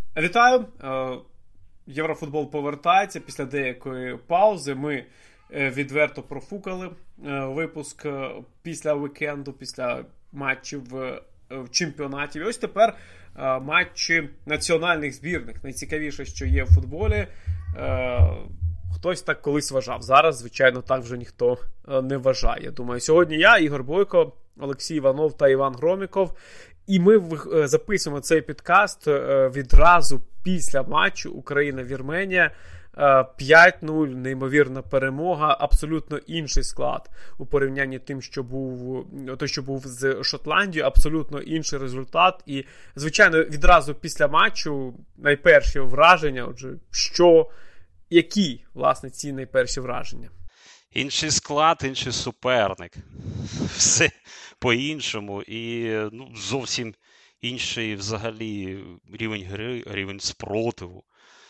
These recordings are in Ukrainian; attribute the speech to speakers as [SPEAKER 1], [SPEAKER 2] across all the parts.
[SPEAKER 1] Вітаю! Єврофутбол повертається після деякої паузи. Ми відверто профукали випуск після вікенду, після матчів в чемпіонаті. І ось тепер матчі національних збірних. Найцікавіше, що є в футболі. Хтось так колись вважав. Зараз, звичайно, так вже ніхто не вважає. Думаю, сьогодні я, Ігор Бойко, Олексій Іванов та Іван Громіков. І ми записуємо цей підкаст відразу після матчу Україна-Вірменія. 5-0, неймовірна перемога, абсолютно інший склад у порівнянні тим, що був з Шотландією, абсолютно інший результат. І, звичайно, відразу після матчу найперші враження, отже, які, власне, ці найперші враження?
[SPEAKER 2] Інший склад, інший суперник. Все по-іншому. І зовсім інший взагалі рівень гри, рівень спротиву.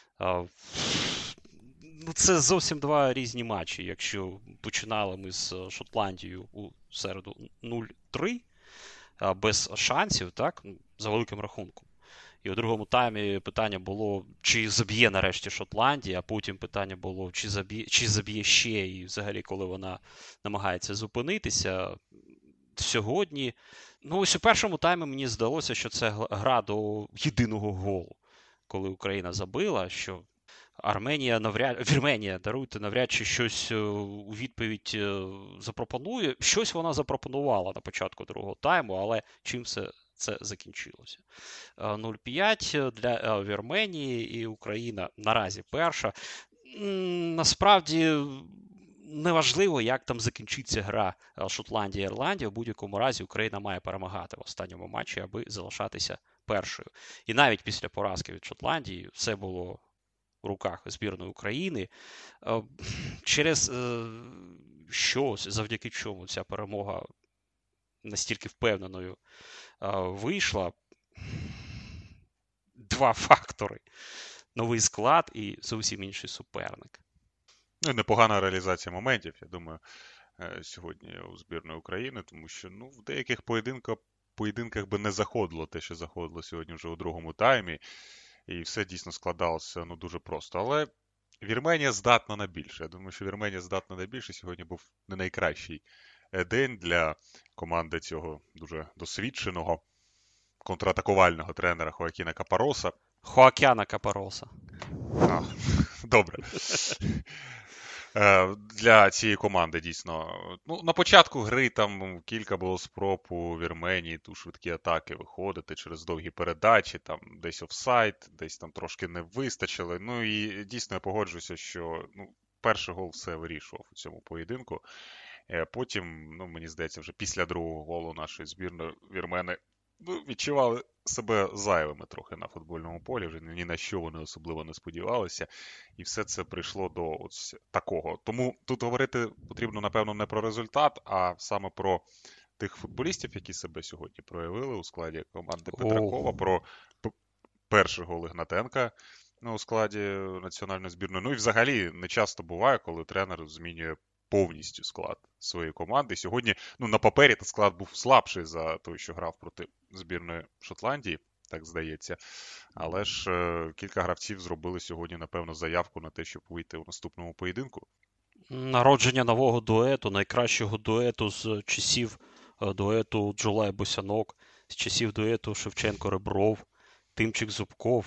[SPEAKER 2] Це зовсім два різні матчі. Якщо починали ми з Шотландією у середу 0-3, без шансів, так, за великим рахунком. І у другому таймі питання було, чи заб'є нарешті Шотландія, а потім питання було, чи заб'є ще, і взагалі, коли вона намагається зупинитися. Сьогодні, ось у першому таймі мені здалося, що це гра до єдиного голу. Коли Україна забила, що Вірменія, навряд чи щось у відповідь запропонує. Щось вона запропонувала на початку другого тайму, але чим все це закінчилося. 0-5 для Вірменії, і Україна наразі перша. Насправді неважливо, як там закінчиться гра Шотландія-Ірландія. В будь-якому разі Україна має перемагати в останньому матчі, аби залишатися першою. І навіть після поразки від Шотландії все було в руках збірної України. Через завдяки чому ця перемога настільки впевненою вийшла. Два фактори. Новий склад і зовсім інший суперник.
[SPEAKER 3] Непогана реалізація моментів, я думаю, сьогодні у збірної України, тому що в деяких поєдинках би не заходило те, що заходило сьогодні вже у другому таймі, і все дійсно складалося дуже просто. Але Вірменія здатна на більше. Я думаю, що Вірменія здатна на більше. Сьогодні був не найкращий день для команди цього дуже досвідченого контратакувального тренера Хоакіна Капароса.
[SPEAKER 2] Хоакяна Капароса.
[SPEAKER 3] Добре. Для цієї команди, дійсно. На початку гри там кілька було спроб у Вірменії, ту швидкі атаки виходити через довгі передачі, там десь офсайд, десь там трошки не вистачило. І дійсно я погоджуюся, що перший гол все вирішував у цьому поєдинку. Потім, мені здається, вже після другого голу нашої збірної вірмени відчували себе зайвими трохи на футбольному полі, вже ні на що вони особливо не сподівалися, і все це прийшло до ось такого. Тому тут говорити потрібно, напевно, не про результат, а саме про тих футболістів, які себе сьогодні проявили у складі команди Петракова, про перший гол Ігнатенка у складі національної збірної. І взагалі не часто буває, коли тренер змінює повністю склад своєї команди. Сьогодні, на папері склад був слабший за той, що грав проти збірної Шотландії, так здається. Але ж кілька гравців зробили сьогодні, напевно, заявку на те, щоб вийти у наступному поєдинку.
[SPEAKER 2] Народження нового дуету, найкращого дуету з часів дуету Джулай-Босянок, з часів дуету Шевченко-Ребров, Тимчик-Зубков.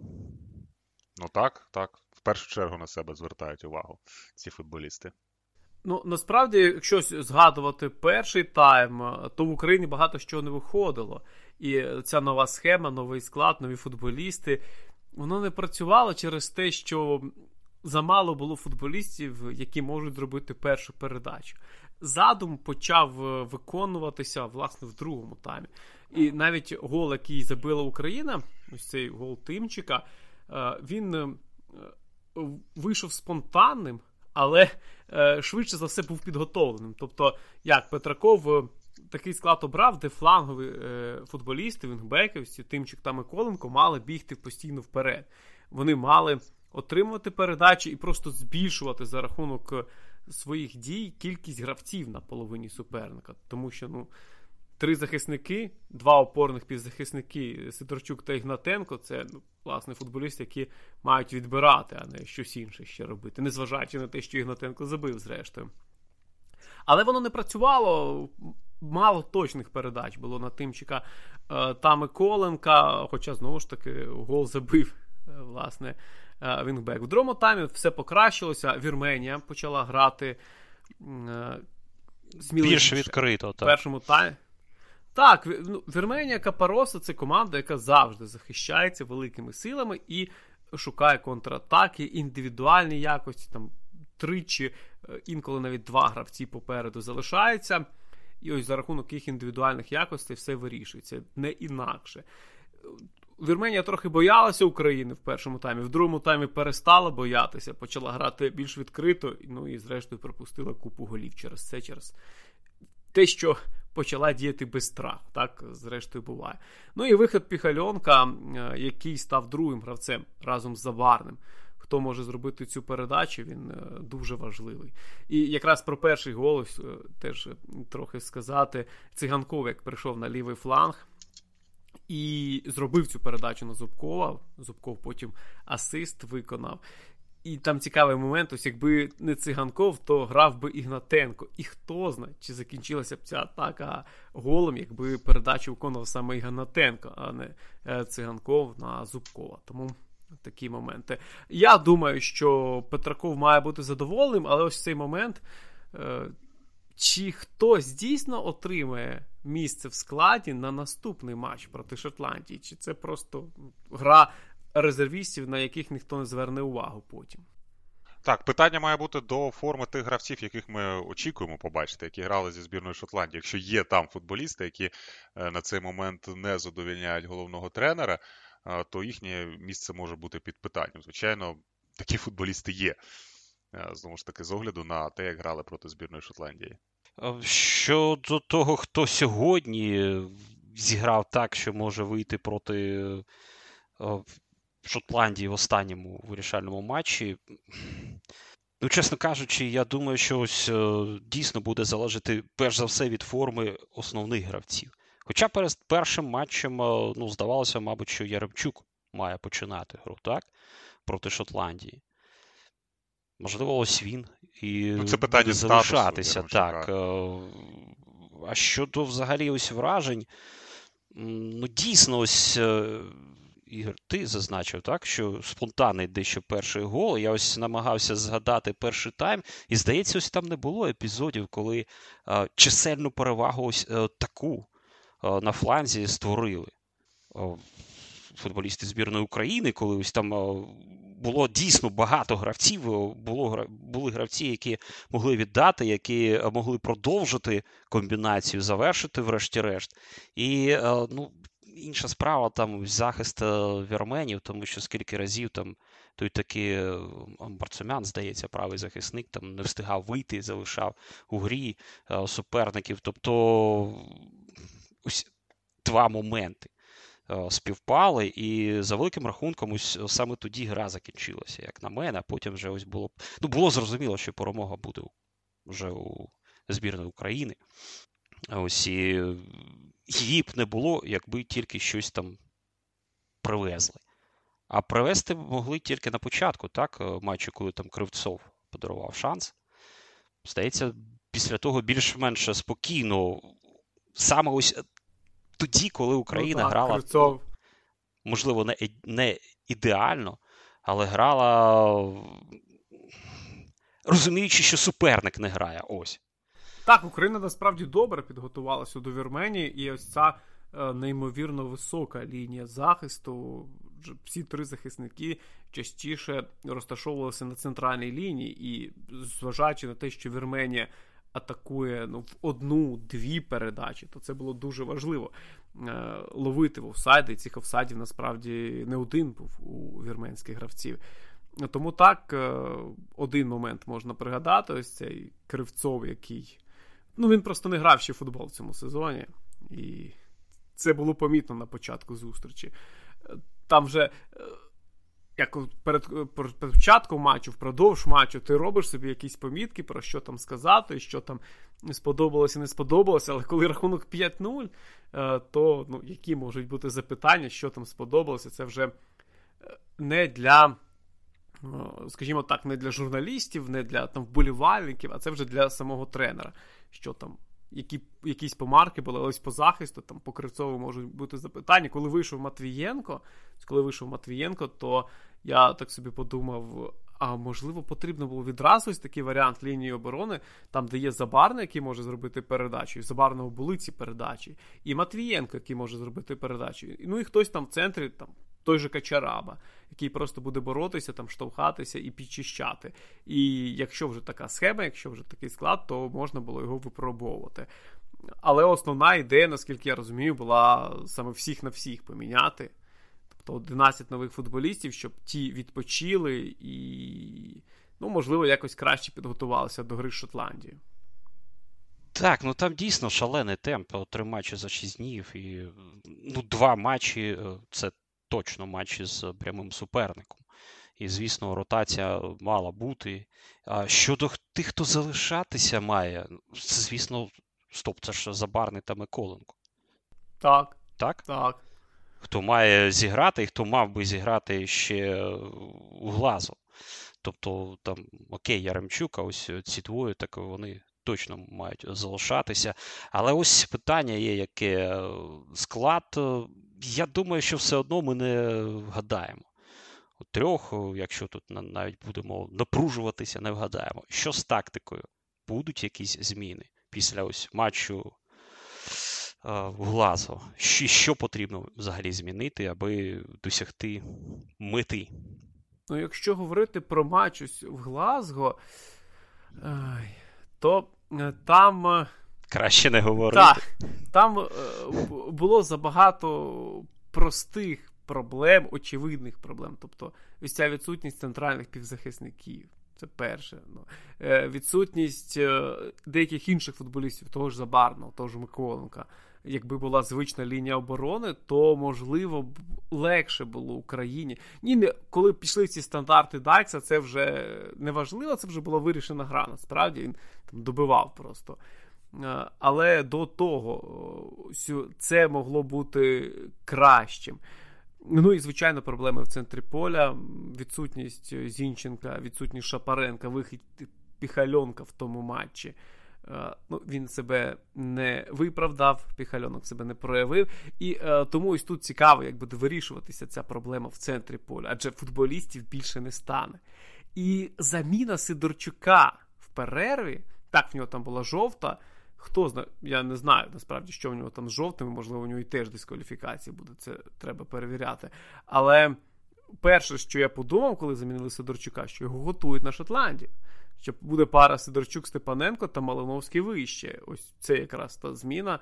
[SPEAKER 3] Так. В першу чергу на себе звертають увагу ці футболісти.
[SPEAKER 1] Насправді, якщо згадувати перший тайм, то в Україні багато що не виходило. І ця нова схема, новий склад, нові футболісти, воно не працювало через те, що замало було футболістів, які можуть зробити першу передачу. Задум почав виконуватися, власне, в другому таймі. І навіть гол, який забила Україна, ось цей гол Тимчика, він вийшов спонтанним, але швидше за все був підготовленим. Тобто, як Петраков такий склад обрав, де флангові футболісти, вінгбеківці, Тимчик та Миколенко мали бігти постійно вперед. Вони мали отримувати передачі і просто збільшувати за рахунок своїх дій кількість гравців на половині суперника. Тому що, 3 захисники, 2 опорних півзахисники Сидорчук та Ігнатенко, це, власне, футболісти, які мають відбирати, а не щось інше ще робити, незважаючи на те, що Ігнатенко забив, зрештою. Але воно не працювало, мало точних передач було на Тимчика та Миколенка, хоча, знову ж таки, гол забив, власне, вінгбек. В другому таймі все покращилося, Вірменія почала грати сміливіше.
[SPEAKER 2] Більш відкрито, так.
[SPEAKER 1] В першому таймі. Так, Вірменія Капароса – це команда, яка завжди захищається великими силами і шукає контратаки, індивідуальні якості, там тричі, інколи навіть 2 гравці попереду залишаються. І ось за рахунок їх індивідуальних якостей все вирішується, не інакше. Вірменія трохи боялася України в першому таймі, в другому таймі перестала боятися, почала грати більш відкрито, ну і зрештою пропустила купу голів через це, через те, що почала діяти без страху, так зрештою буває. Ну і вихід Піхальонка, який став другим гравцем разом з Заварним. Хто може зробити цю передачу, він дуже важливий. І якраз про перший гол теж трохи сказати. Циганков, як прийшов на лівий фланг і зробив цю передачу на Зубкова. Зубков потім асист виконав. І там цікавий момент, ось якби не Циганков, то грав би Ігнатенко. І хто знає, чи закінчилася б ця атака голом, якби передачу виконував саме Ігнатенко, а не Циганков на Зубкова. Тому такі моменти. Я думаю, що Петраков має бути задоволеним, але ось цей момент, чи хтось дійсно отримає місце в складі на наступний матч проти Шотландії, чи це просто гра резервістів, на яких ніхто не зверне увагу потім.
[SPEAKER 3] Так, питання має бути до форми тих гравців, яких ми очікуємо побачити, які грали зі збірною Шотландії. Якщо є там футболісти, які на цей момент не задовольняють головного тренера, то їхнє місце може бути під питанням. Звичайно, такі футболісти є. Знову ж таки, з огляду на те, як грали проти збірної Шотландії.
[SPEAKER 2] Щодо того, хто сьогодні зіграв так, що може вийти проти Шотландії в останньому вирішальному матчі, ну, чесно кажучи, я думаю, що ось дійсно буде залежати перш за все від форми основних гравців. Хоча перед першим матчем, ну, здавалося, мабуть, що Яремчук має починати гру, так? Проти Шотландії. Можливо, ось він і
[SPEAKER 3] це питання
[SPEAKER 2] буде залишатися. Так. А щодо взагалі ось вражень, ну, дійсно, ось, Ігор, ти зазначив, так, що спонтанний дещо перший гол. Я ось намагався згадати перший тайм, і, здається, ось там не було епізодів, коли чисельну перевагу ось таку на фланзі створили футболісти збірної України, коли ось там було дійсно багато гравців, були гравці, які могли віддати, які могли продовжити комбінацію, завершити врешті-решт. І, ну, інша справа, там захист вірменів, тому що скільки разів там той такий Марцумян, здається, правий захисник, там не встигав вийти, залишав у грі суперників. Тобто ось 2 моменти співпали, і за великим рахунком ось саме тоді гра закінчилася, як на мене, а потім вже ось було зрозуміло, що перемога буде вже у збірної України. Ось і її б не було, якби тільки щось там привезли. А привезти могли тільки на початку, так, матчу, коли там Кривцов подарував шанс. Здається, після того більш-менш спокійно, саме ось тоді, коли Україна грала,
[SPEAKER 1] Кривцов,
[SPEAKER 2] можливо, не ідеально, але грала, розуміючи, що суперник не грає. Ось.
[SPEAKER 1] Так, Україна насправді добре підготувалася до Вірменії, і ось ця неймовірно висока лінія захисту. Всі 3 захисники частіше розташовувалися на центральній лінії, і зважаючи на те, що Вірменія атакує в 1-2 передачі, то це було дуже важливо ловити в офсайди, і цих офсайдів насправді не один був у вірменських гравців. Тому так, один момент можна пригадати, ось цей Кривцов, який, ну, він просто не грав ще в футбол в цьому сезоні, і це було помітно на початку зустрічі. Там вже як перед початком матчу, впродовж матчу, ти робиш собі якісь помітки, про що там сказати, що там сподобалося, не сподобалося, але коли рахунок 5-0, то які можуть бути запитання, що там сподобалося, це вже не для, скажімо так, не для журналістів, не для там вболівальників, а це вже для самого тренера, що там якісь помарки були, ось по захисту, там по Кривцову можуть бути запитання. Коли вийшов Матвієнко, то я так собі подумав, а можливо потрібно було відразу ось такий варіант лінії оборони, там де є Забарний, який може зробити передачу, і в Забарного були ці передачі, і Матвієнко, який може зробити передачу, і хтось там в центрі, там той же Качараба, який просто буде боротися, там штовхатися і підчищати. І якщо вже така схема, якщо вже такий склад, то можна було його випробовувати. Але основна ідея, наскільки я розумію, була саме всіх на всіх поміняти. Тобто 11 нових футболістів, щоб ті відпочили і, можливо, якось краще підготувалися до гри з Шотландією.
[SPEAKER 2] Так, там дійсно шалений темп. 3 матчі за 6 днів і 2 матчі – це точно матчі з прямим суперником. І, звісно, ротація мала бути. А щодо тих, хто залишатися має, це, звісно, це ж Забарний та Миколенко.
[SPEAKER 1] Так.
[SPEAKER 2] Так?
[SPEAKER 1] Так.
[SPEAKER 2] Хто має зіграти і хто мав би зіграти ще у Глазго. Тобто, там, окей, Яремчук, а ось ці двоє, так вони точно мають залишатися. Але ось питання є, яке склад. Я думаю, що все одно ми не вгадаємо. У 3, якщо тут навіть будемо напружуватися, не вгадаємо. Що з тактикою? Будуть якісь зміни після ось матчу в Глазго? Що потрібно взагалі змінити, аби досягти мети?
[SPEAKER 1] Якщо говорити про матч ось в Глазго, то там...
[SPEAKER 2] Краще не говорити.
[SPEAKER 1] Так, там було забагато простих проблем, очевидних проблем. Тобто, ось ця відсутність центральних півзахисників. Це перше. Відсутність деяких інших футболістів, того ж Забарного, того ж Миколенка. Якби була звична лінія оборони, то, можливо, легше було Україні. Коли пішли ці стандарти Дайкса, це вже не важливо, це вже була вирішена гра. Насправді, він там добивав просто. Але до того це могло бути кращим. І, звичайно, проблеми в центрі поля, відсутність Зінченка, відсутність Шапаренка, вихід Піхальонка в тому матчі. Він себе не виправдав, Піхальонок себе не проявив. І тому ось тут цікаво, як буде вирішуватися ця проблема в центрі поля, адже футболістів більше не стане. І заміна Сидорчука в перерві, так, в нього там була жовта, хто знає, я не знаю, насправді, що в нього там з жовтими, можливо, у нього і теж дискваліфікація буде, це треба перевіряти. Але перше, що я подумав, коли замінили Сидорчука, що його готують на Шотландію, що буде пара Сидорчук-Степаненко та Малиновський вище. Ось це якраз та зміна,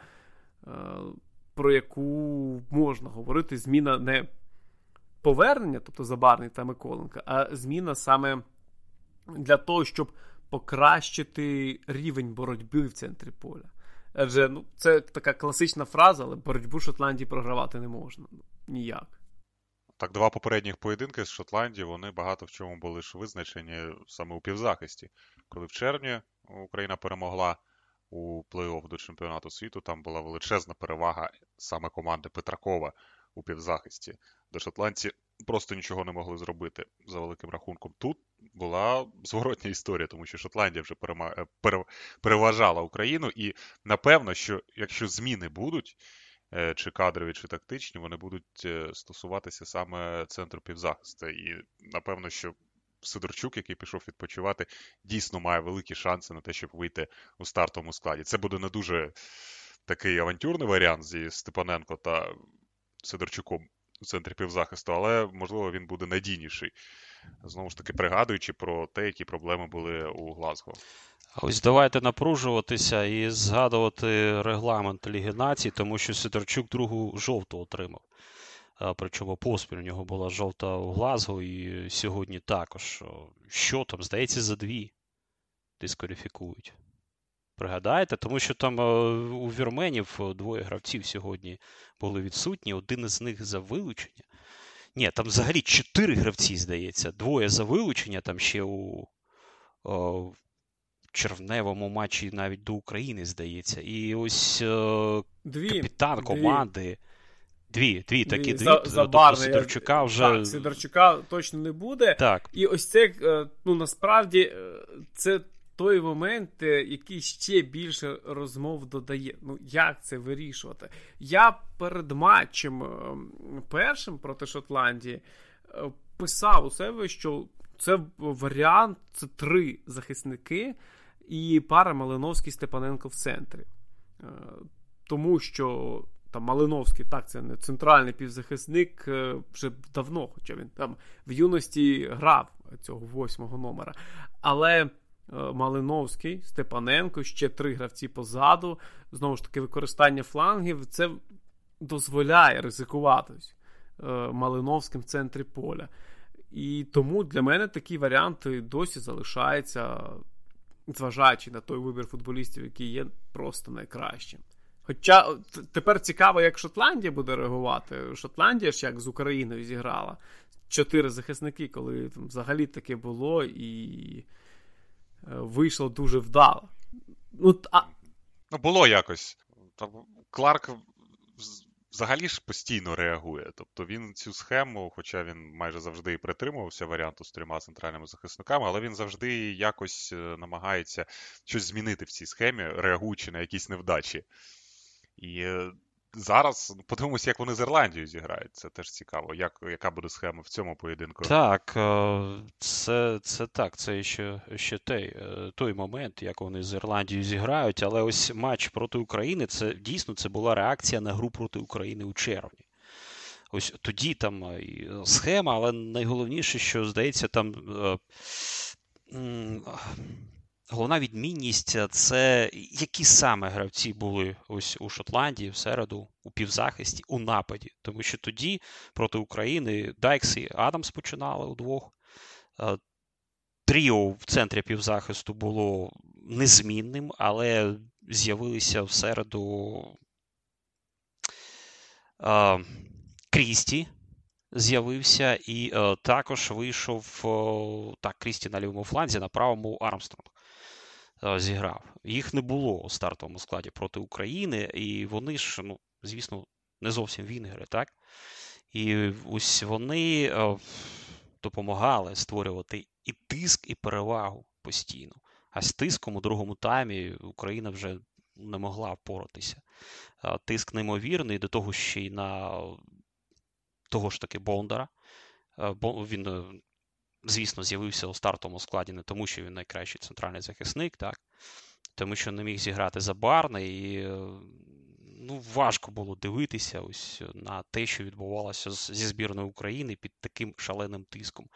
[SPEAKER 1] про яку можна говорити, зміна не повернення, тобто Забарний та Миколенка, а зміна саме для того, щоб покращити рівень боротьби в центрі поля. Адже це така класична фраза, але боротьбу Шотландії програвати не можна. Ніяк.
[SPEAKER 3] Так, 2 попередніх поєдинки з Шотландії, вони багато в чому були ж визначені саме у півзахисті. Коли в червні Україна перемогла у плей-офф до чемпіонату світу, там була величезна перевага саме команди Петракова у півзахисті. До шотландці просто нічого не могли зробити за великим рахунком. Тут була зворотня історія, тому що Шотландія вже переважала Україну. І напевно, що якщо зміни будуть, чи кадрові, чи тактичні, вони будуть стосуватися саме центру півзахисту. І напевно, що Сидорчук, який пішов відпочивати, дійсно має великі шанси на те, щоб вийти у стартовому складі. Це буде не дуже такий авантюрний варіант зі Степаненко та Сидорчуком у центрі півзахисту, але, можливо, він буде надійніший. Знову ж таки, пригадуючи про те, які проблеми були у Глазго.
[SPEAKER 2] А ось давайте напружуватися і згадувати регламент Ліги Націй, тому що Сидорчук другу жовту отримав. Причому поспіль у нього була жовта у Глазго і сьогодні також. Що там, здається, за 2 дискваліфікують. Пригадаєте? Тому що там у вірменів 2 гравців сьогодні були відсутні, один із них за вилучення. Ні, там взагалі 4 гравці, здається. 2 за вилучення, там ще у червневому матчі навіть до України, здається. І ось капітан команди. Дві такі. Тобто Сидорчука вже...
[SPEAKER 1] Так, Сидорчука точно не буде.
[SPEAKER 2] Так.
[SPEAKER 1] І ось це, насправді, це той момент, який ще більше розмов додає. Як це вирішувати? Я перед матчем першим проти Шотландії писав у себе, що це варіант, це 3 захисники і пара Малиновський-Степаненко в центрі. Тому що там Малиновський, так, це не центральний півзахисник вже давно, хоча він там в юності грав цього 8-го номера. Але Малиновський, Степаненко, ще 3 гравці позаду, знову ж таки використання флангів, це дозволяє ризикувати Малиновським в центрі поля. І тому для мене такі варіанти досі залишаються, зважаючи на той вибір футболістів, який є просто найкращим. Хоча тепер цікаво, як Шотландія буде реагувати. Шотландія ж як з Україною зіграла. 4 захисники, коли там взагалі таке було, і вийшло дуже вдало.
[SPEAKER 3] Було якось. Кларк взагалі ж постійно реагує. Тобто він цю схему, хоча він майже завжди і притримувався варіанту з 3 центральними захисниками, але він завжди якось намагається щось змінити в цій схемі, реагуючи на якісь невдачі. І зараз подивимося, як вони з Ірландією зіграють. Це теж цікаво. Яка буде схема в цьому поєдинку?
[SPEAKER 2] Так, це ще той момент, як вони з Ірландією зіграють. Але ось матч проти України, це була реакція на гру проти України у червні. Ось тоді там і схема, але найголовніше, що, здається, там... Головна відмінність – це які саме гравці були ось у Шотландії в середу, у півзахисті, у нападі. Тому що тоді проти України Дайкс і Адамс починали удвох. Тріо в центрі півзахисту було незмінним, але з'явилися в середу Крісті. З'явився і також вийшов Крісті на лівому фланзі, на правому Армстронг зіграв. Їх не було у стартовому складі проти України, і вони ж, звісно, не зовсім вінгери, так? І ось вони допомагали створювати і тиск, і перевагу постійно. А з тиском у другому таймі Україна вже не могла впоратися. Тиск неймовірний, до того ще й на того ж таки Бондара. Він, звісно, з'явився у стартовому складі не тому, що він найкращий центральний захисник, так? Тому що не міг зіграти Забарна, і важко було дивитися ось на те, що відбувалося зі збірною України під таким шаленим тиском.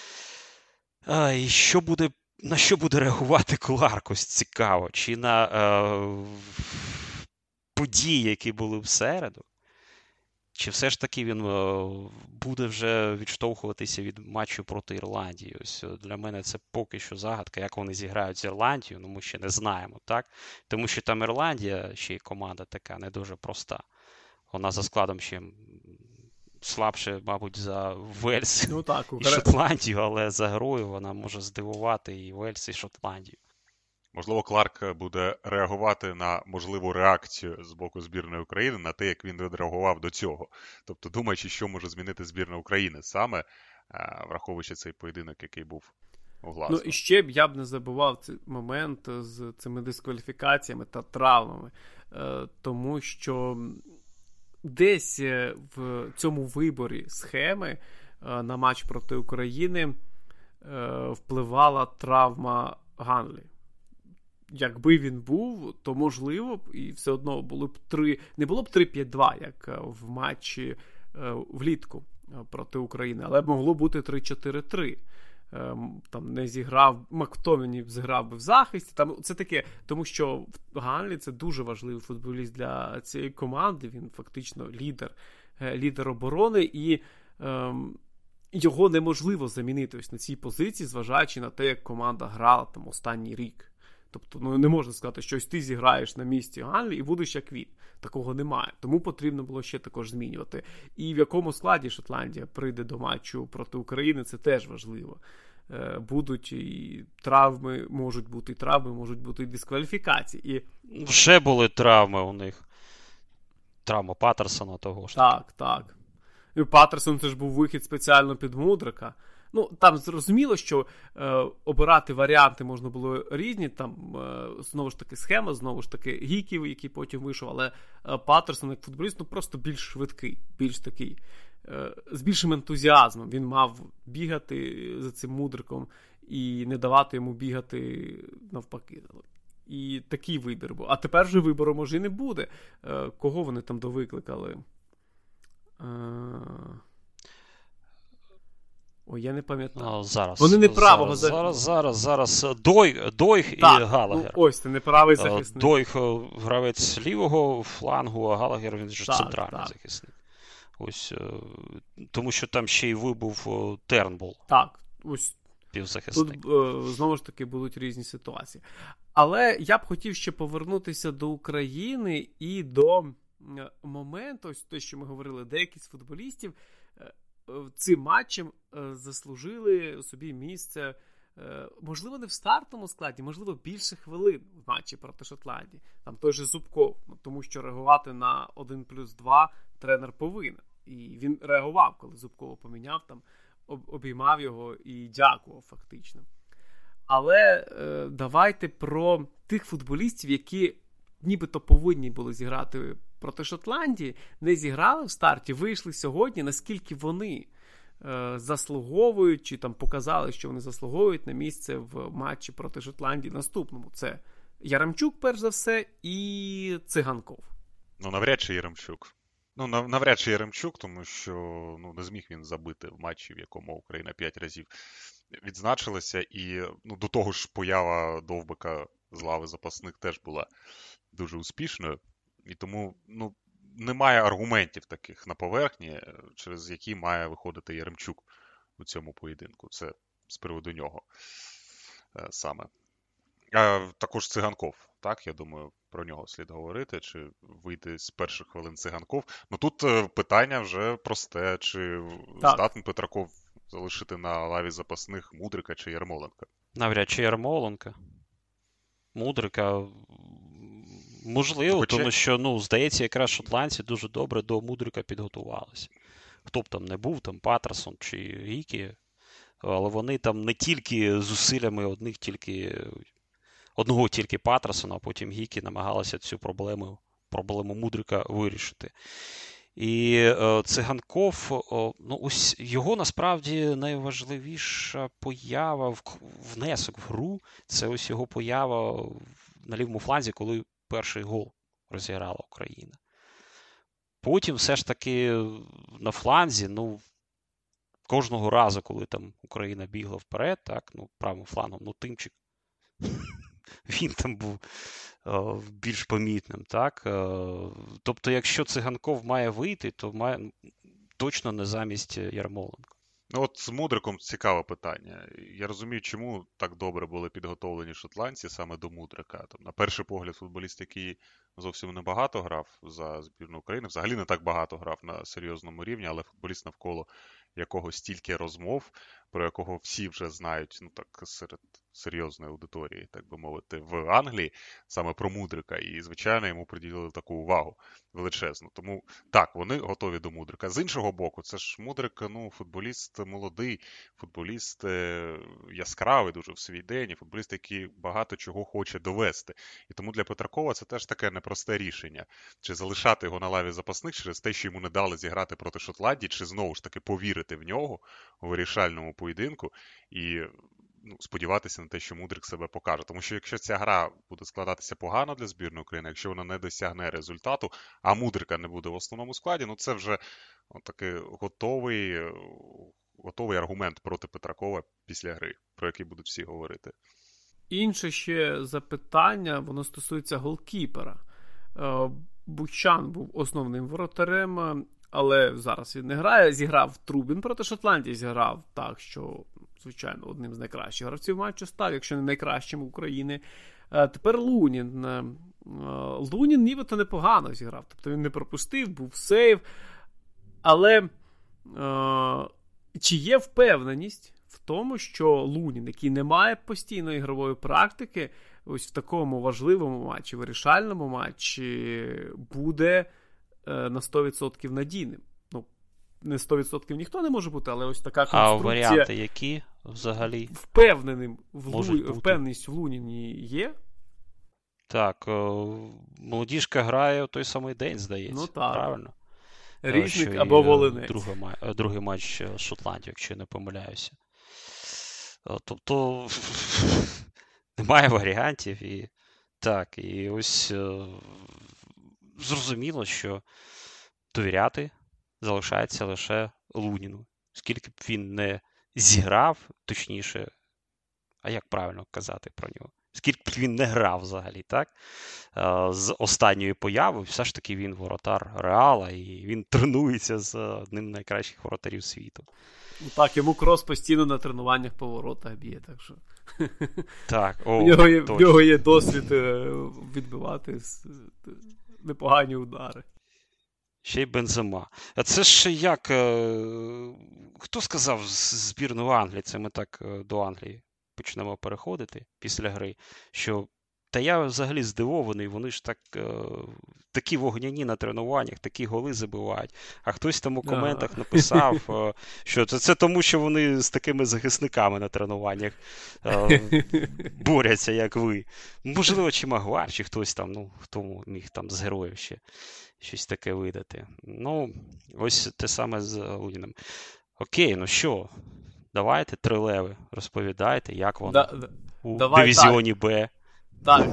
[SPEAKER 2] І на що буде реагувати Кларк, ось цікаво? Чи на події, які були в середу? Чи все ж таки він буде вже відштовхуватися від матчу проти Ірландії? Ось для мене це поки що загадка, як вони зіграють з Ірландією, ми ще не знаємо, так? Тому що там Ірландія, ще й команда така не дуже проста. Вона за складом ще слабше, мабуть, за Вельс і Шотландію, але за грою вона може здивувати і Вельс, і Шотландію.
[SPEAKER 3] Можливо, Кларк буде реагувати на можливу реакцію з боку збірної України на те, як він відреагував до цього. Тобто, думаючи, що може змінити збірна України саме, враховуючи цей поєдинок, який був у Глазго.
[SPEAKER 1] І ще я б не забував цей момент з цими дискваліфікаціями та травмами. Тому що десь в цьому виборі схеми на матч проти України впливала травма Ганлі. Якби він був, то можливо б, і все одно було б не було б 3-5-2, як в матчі влітку проти України, але б могло бути 3-4-3. Там не зіграв, Мактоміні зіграв би в захисті. Там це таке, тому що Ганлі це дуже важливий футболіст для цієї команди, він фактично лідер оборони, і його неможливо замінити ось на цій позиції, зважаючи на те, як команда грала там останній рік. Тобто, не можна сказати, що ось ти зіграєш на місці Англії і будеш як він. Такого немає. Тому потрібно було ще також змінювати. І в якому складі Шотландія прийде до матчу проти України, це теж важливо. Будуть і травми, можуть бути і дискваліфікації. І...
[SPEAKER 2] Вже були травми у них. Травма Паттерсона того ж.
[SPEAKER 1] Так. І Паттерсон це ж був вихід спеціально під Мудрика. Там зрозуміло, що обирати варіанти можна було різні, там знову ж таки схема, знову ж таки Гіків, який потім вийшов, але Паттерсон як футболіст, просто більш швидкий, більш такий, з більшим ентузіазмом. Він мав бігати за цим Мудриком і не давати йому бігати навпаки. І такий вибір був. А тепер вже вибору, може, і не буде. Кого вони там довикликали? Ой, я не пам'ятаю.
[SPEAKER 2] Зараз.
[SPEAKER 1] Вони не правого
[SPEAKER 2] Зараз. Дойх і Галагер.
[SPEAKER 1] Ось, це неправий захисник.
[SPEAKER 2] Дойх гравець лівого флангу, а Галагер він же центральний захисник. Ось, тому що там ще й вибув Тернбул.
[SPEAKER 1] Так, ось.
[SPEAKER 2] Півзахисник.
[SPEAKER 1] Тут, знову ж таки, будуть різні ситуації. Але я б хотів ще повернутися до України і до моменту, ось те, що ми говорили, деякі з футболістів цим матчем заслужили собі місце, можливо, не в стартовому складі, можливо, більше хвилин в матчі проти Шотландії. Там той же Зубков, тому що реагувати на 1+2 тренер повинен. І він реагував, коли Зубкова поміняв, там обіймав його і дякував фактично. Але давайте про тих футболістів, які нібито повинні були зіграти проти Шотландії, не зіграли в старті, вийшли сьогодні, наскільки вони заслуговують, чи там показали, що вони заслуговують на місце в матчі проти Шотландії наступному. Це Яремчук, перш за все, і Циганков.
[SPEAKER 3] Навряд чи Яремчук. Навряд чи Яремчук, тому що не зміг він забити в матчі, в якому Україна 5 разів відзначилася. І до того ж поява Довбика з лави запасних теж була дуже успішною. І тому немає аргументів таких на поверхні, через які має виходити Яремчук у цьому поєдинку. Це з приводу нього саме. Також Циганков, так, я думаю, про нього слід говорити, чи вийде з перших хвилин Циганков. Тут питання вже просте, чи здатний Петраков залишити на лаві запасних Мудрика чи Ярмоленка?
[SPEAKER 2] Навряд чи Ярмоленка. Мудрика можливо, тому що, здається, якраз шотландці дуже добре до Мудрика підготувалися. Хто б там не був, там Паттерсон чи Гікі, але вони там не тільки зусиллями одного тільки Паттерсона, а потім Гікі намагалися цю проблему Мудрика вирішити. І Циганков, ось його насправді найважливіша поява, внесок в гру, це ось його поява на лівому фланзі, коли перший гол розіграла Україна. Потім все ж таки на фланзі, кожного разу, коли там Україна бігла вперед, так, правим флангом, Тимчик, він там був більш помітним, так. Тобто, якщо Циганков має вийти, то має точно не замість Ярмоленка.
[SPEAKER 3] От з Мудриком цікаве питання. Я розумію, чому так добре були підготовлені шотландці саме до Мудрика. На перший погляд, футболіст, який зовсім небагато грав за збірну України, взагалі не так багато грав на серйозному рівні, але футболіст, навколо якого стільки розмов, про якого всі вже знають, серед серйозної аудиторії, так би мовити, в Англії, саме про Мудрика. І, звичайно, йому приділили таку увагу величезну. Тому, так, вони готові до Мудрика. З іншого боку, це ж Мудрик, футболіст молодий, футболіст яскравий дуже в свій день, і футболіст, який багато чого хоче довести. І тому для Петракова це теж таке непросте рішення. Чи залишати його на лаві запасних через те, що йому не дали зіграти проти Шотландії, чи знову ж таки повірити в нього у вирішальному поєдинку і сподіватися на те, що Мудрик себе покаже. Тому що якщо ця гра буде складатися погано для збірної України, якщо вона не досягне результату, а Мудрика не буде в основному складі, це вже такий готовий аргумент проти Петракова після гри, про який будуть всі говорити.
[SPEAKER 1] Інше ще запитання, воно стосується голкіпера. Бучан був основним воротарем, але зараз він не грає. Зіграв Трубін проти Шотландії, зіграв так, що, звичайно, одним з найкращих гравців матчу став, якщо не найкращим України. Тепер Лунін. Лунін нібито непогано зіграв. Тобто він не пропустив, був сейв. Але чи є впевненість в тому, що Лунін, який не має постійної ігрової практики, ось в такому важливому матчі, вирішальному матчі, буде на 100% надійним? Ну, не 100% ніхто не може бути, але ось така конструкція.
[SPEAKER 2] А варіанти які взагалі?
[SPEAKER 1] Впевненість в Луніні є?
[SPEAKER 2] Так, молодіжка грає у той самий день, здається.
[SPEAKER 1] Ну так.
[SPEAKER 2] Правильно?
[SPEAKER 1] Різник або Волинець.
[SPEAKER 2] Другий матч з Шотландією, якщо я не помиляюся. Тобто немає варіантів. І ось зрозуміло, що довіряти залишається лише Луніну. Скільки б він не зіграв, точніше, а як правильно казати про нього? Скільки б він не грав взагалі, так? З останньої появи, все ж таки він воротар Реала, і він тренується з одним з найкращих воротарів світу.
[SPEAKER 1] Так, йому Крос постійно на тренуваннях по воротах б'є, так що...
[SPEAKER 2] Так,
[SPEAKER 1] в нього є досвід відбивати непогані удари.
[SPEAKER 2] Ще й Бензема. А це ж як... Хто сказав збірну Англії? Це ми так до Англії почнемо переходити після гри, що та я взагалі здивований, вони ж такі вогняні на тренуваннях, такі голи забивають. А хтось там у коментах написав, що це тому, що вони з такими захисниками на тренуваннях борються, як ви. Можливо, чи Магуар, чи хтось там, хто міг там з героїв ще щось таке видати. Ось те саме з Луніним. Окей, що? Давайте, 3 леви, розповідайте, як воно у дивізіоні Б.
[SPEAKER 1] Так,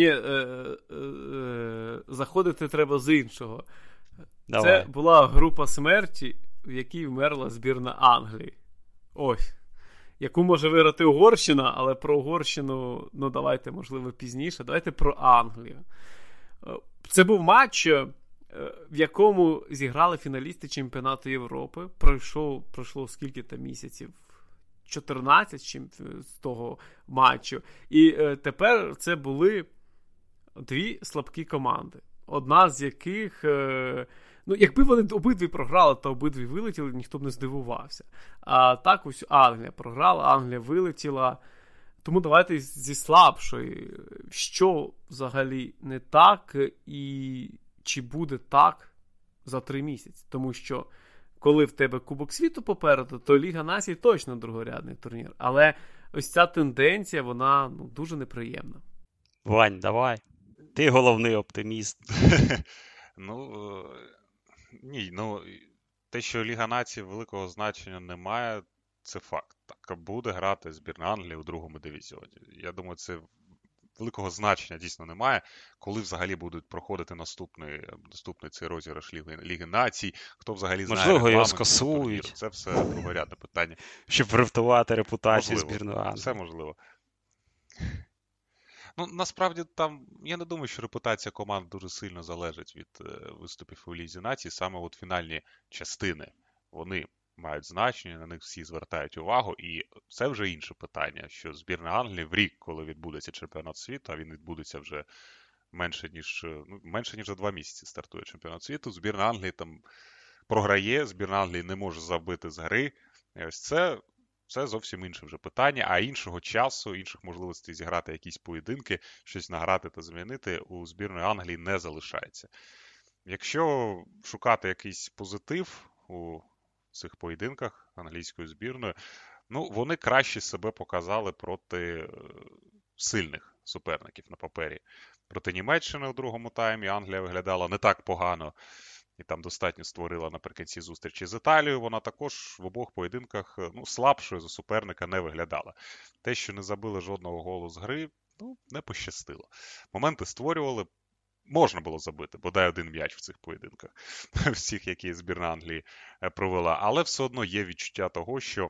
[SPEAKER 1] заходити треба з іншого.
[SPEAKER 2] Давай.
[SPEAKER 1] Це була група смерті, в якій вмерла збірна Англії. Ось. Яку може виграти Угорщина, але про Угорщину, давайте, можливо, пізніше. Давайте про Англію. Це був матч, в якому зіграли фіналісти чемпіонату Європи. Пройшло скільки там місяців? 14 з того матчу. І тепер це були 2 слабкі команди. Одна з яких, якби вони обидві програли та обидві вилетіли, ніхто б не здивувався. А так ось Англія програла, Англія вилетіла. Тому давайте зі слабшої. Що взагалі не так і чи буде так за 3 місяці? Тому що коли в тебе Кубок світу попереду, то Ліга Націй точно другорядний турнір. Але ось ця тенденція, вона дуже неприємна.
[SPEAKER 2] Вань, давай. Ти головний оптиміст.
[SPEAKER 3] Те, що Ліга Націй великого значення не має, це факт. Так, буде грати збірна Англії у другому дивізіоні. Я думаю, це великого значення дійсно немає. Коли взагалі будуть проходити наступний цей розіграш Ліги Націй, хто взагалі знає регламент.
[SPEAKER 2] Можливо, його скасують.
[SPEAKER 3] Це все другорядне питання.
[SPEAKER 2] Щоб врятувати репутацію збірної Англії.
[SPEAKER 3] Все можливо. Насправді, там, я не думаю, що репутація команд дуже сильно залежить від виступів у Лізі Націй. Саме от фінальні частини, вони мають значення, на них всі звертають увагу, і це вже інше питання, що збірна Англії в рік, коли відбудеться чемпіонат світу, а він відбудеться вже менше ніж за 2 місяці стартує чемпіонат світу, збірна Англії там програє, збірна Англії не може забити з гри, і ось це зовсім інше вже питання, а іншого часу, інших можливостей зіграти якісь поєдинки, щось награти та змінити у збірної Англії не залишається. Якщо шукати якийсь позитив у цих поєдинках англійської збірної, вони краще себе показали проти сильних суперників на папері. Проти Німеччини у другому таймі Англія виглядала не так погано, і там достатньо створила наприкінці зустрічі з Італією. Вона також в обох поєдинках слабшою за суперника не виглядала. Те, що не забили жодного голу з гри, не пощастило. Моменти створювали, можна було забити, бодай 1 м'яч в цих поєдинках, всіх, які збірна Англії провела. Але все одно є відчуття того, що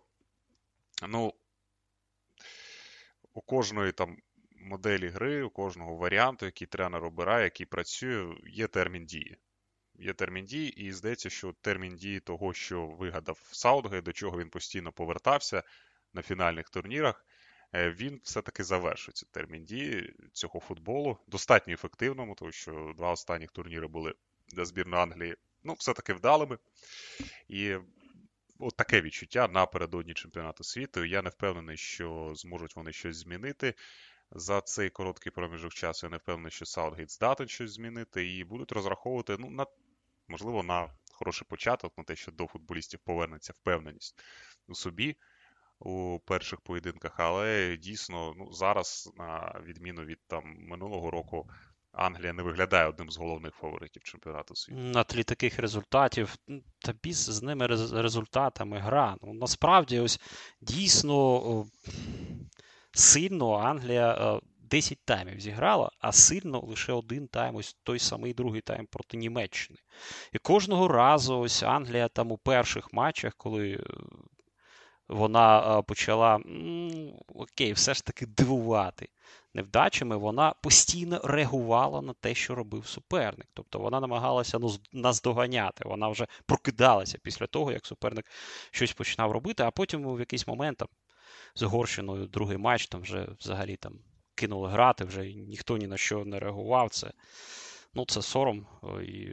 [SPEAKER 3] у кожної там моделі гри, у кожного варіанту, який тренер обирає, який працює, є термін дії. Є термін дії, і здається, що термін дії того, що вигадав Саутгейт, до чого він постійно повертався на фінальних турнірах, він все-таки завершує цей термін дії цього футболу. Достатньо ефективному, тому що 2 останніх турніри були для збірної Англії, все-таки вдалими. І от таке відчуття напередодні чемпіонату світу. Я не впевнений, що зможуть вони щось змінити за цей короткий проміжок часу. Я не впевнений, що Саутгейт здатен щось змінити і будуть розраховувати, можливо, на хороший початок, на те, що до футболістів повернеться впевненість у собі у перших поєдинках, але дійсно зараз, на відміну від минулого року, Англія не виглядає одним з головних фаворитів чемпіонату світу.
[SPEAKER 2] На тлі таких результатів, та біс з ними результатами гра. Насправді, ось дійсно сильно Англія 10 таймів зіграла, а сильно лише один тайм, ось той самий другий тайм проти Німеччини. І кожного разу ось Англія там у перших матчах, коли вона почала, все ж таки дивувати невдачами, вона постійно реагувала на те, що робив суперник. Тобто вона намагалася наздоганяти, вона вже прокидалася після того, як суперник щось починав робити, а потім в якийсь момент з Угорщиною другий матч вже взагалі кинули грати, вже ніхто ні на що не реагував. Це сором. І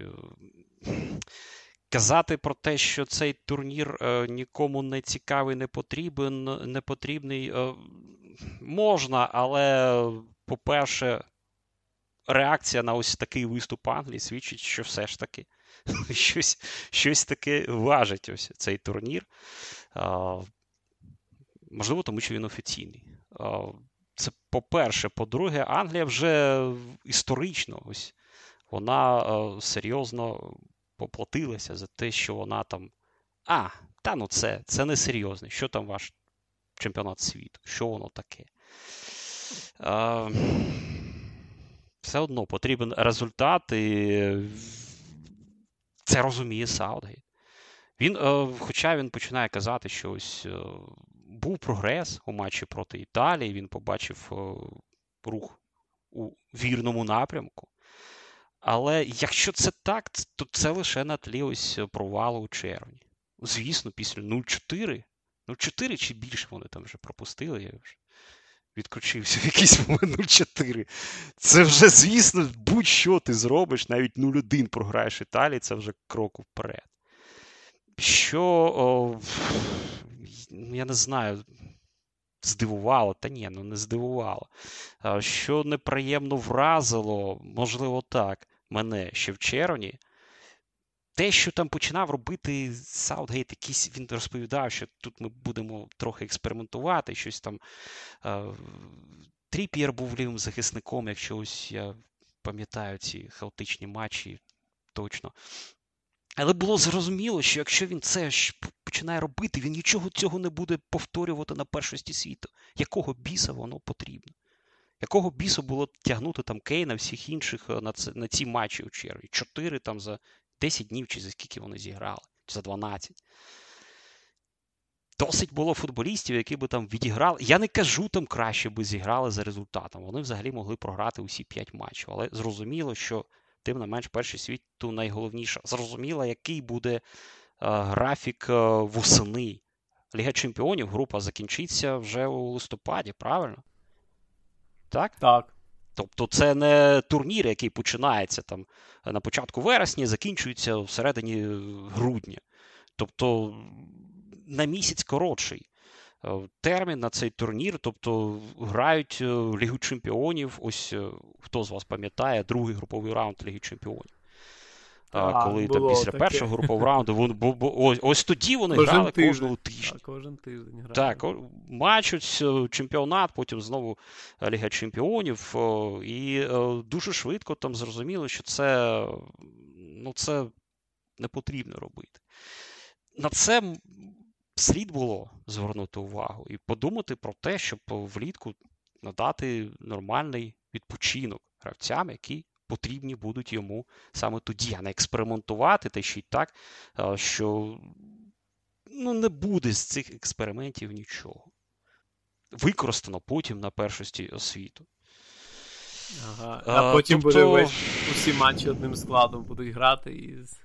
[SPEAKER 2] казати про те, що цей турнір нікому не цікавий, не потрібний, можна, але, по-перше, реакція на ось такий виступ Англії свідчить, що все ж таки щось таке важить ось цей турнір. Можливо, тому що він офіційний. Це по-перше. По-друге, Англія вже історично ось вона серйозно поплатилася за те, що вона це не серйозно. Що там ваш чемпіонат світу? Що воно таке? Все одно потрібен результат, і це розуміє Саутгейт. Хоча він починає казати, що ось був прогрес у матчі проти Італії, він побачив рух у вірному напрямку. Але якщо це так, то це лише на тлі ось провалу у червні. Звісно, після 0-4, 0-4 чи більше вони там вже пропустили, я вже відключився в якийсь момент 0-4. Це вже, звісно, будь-що ти зробиш, навіть 0-1 програєш Італії, це вже крок вперед. Що, я не знаю, здивувало? Та ні, не здивувало. Що неприємно вразило, можливо так, мене ще в червні, те, що там починав робити Саутгейт, він розповідав, що тут ми будемо трохи експериментувати, щось там. Тріп'єр був лівим захисником, якщо ось я пам'ятаю ці хаотичні матчі, точно. Але було зрозуміло, що якщо він це починає робити, він нічого цього не буде повторювати на першості світу. Якого біса воно потрібно? Якого бісу було тягнути там Кейна, всіх інших на ці матчі у червні? 4 там за 10 днів, чи за скільки вони зіграли? Чи за 12? Досить було футболістів, які би там відіграли. Я не кажу, там краще би зіграли за результатом. Вони взагалі могли програти усі 5 матчів. Але зрозуміло, що тим не менш перший світу найголовніше. Зрозуміло, який буде графік восени. Ліга Чемпіонів, група закінчиться вже у листопаді, правильно? Так?
[SPEAKER 1] Так.
[SPEAKER 2] Тобто це не турнір, який починається там на початку вересня, закінчується всередині грудня. Тобто на місяць коротший термін на цей турнір, тобто грають Лігу Чемпіонів, ось хто з вас пам'ятає, другий груповий раунд Ліги Чемпіонів. Коли там після першого групового раунду, ось тоді вони грали кожного тижня.
[SPEAKER 1] Кожен тиждень грали.
[SPEAKER 2] Так, матч, ось чемпіонат, потім знову Ліга Чемпіонів, і дуже швидко там зрозуміло, що це не потрібно робити. На це слід було звернути увагу і подумати про те, щоб влітку надати нормальний відпочинок гравцям, які потрібні будуть йому саме тоді, а не експериментувати, та ще й так, що не буде з цих експериментів нічого. Використано потім на першості світу.
[SPEAKER 1] Ага. А потім буде усі матчі одним складом будуть грати із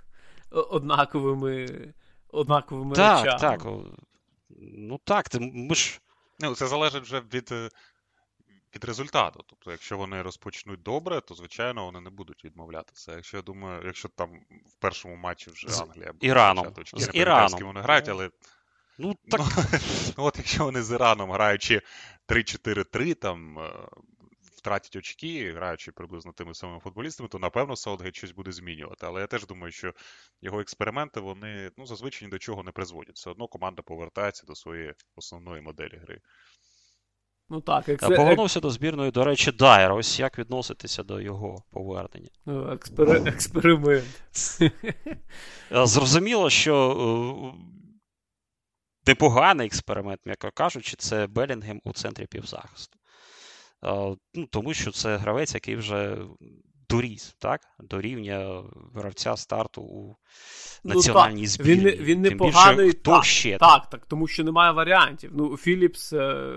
[SPEAKER 1] однаковими речами.
[SPEAKER 2] Так. Ми ж
[SPEAKER 3] Ну, це залежить вже від результату. Тобто, якщо вони розпочнуть добре, то, звичайно, вони не будуть відмовлятися. Якщо, я думаю, якщо там в першому матчі вже Англія буде
[SPEAKER 2] Іраном.
[SPEAKER 3] очки,
[SPEAKER 2] З
[SPEAKER 3] не пам'ятаю, з ким вони грають, але
[SPEAKER 2] Ну, так...
[SPEAKER 3] от якщо вони з Іраном, граючи 3-4-3, там, втратять очки, граючи приблизно тими самими футболістами, то, напевно, Саутгейт щось буде змінювати. Але я теж думаю, що його експерименти, вони, зазвичай ні до чого не призводять. Все одно команда повертається до своєї основної моделі гри.
[SPEAKER 1] Ну так,
[SPEAKER 2] повернувся до збірної, до речі, Дайер. Ось як відноситися до його повернення?
[SPEAKER 1] Експеримент.
[SPEAKER 2] Зрозуміло, що непоганий експеримент, м'яко кажучи, це Белінгем у центрі півзахисту. Тому що це гравець, який вже доріс, так? До рівня гравця старту у національній збірні.
[SPEAKER 1] Він непоганий.
[SPEAKER 2] Хто ще?
[SPEAKER 1] Так, тому що немає варіантів. Ну, Філіпс,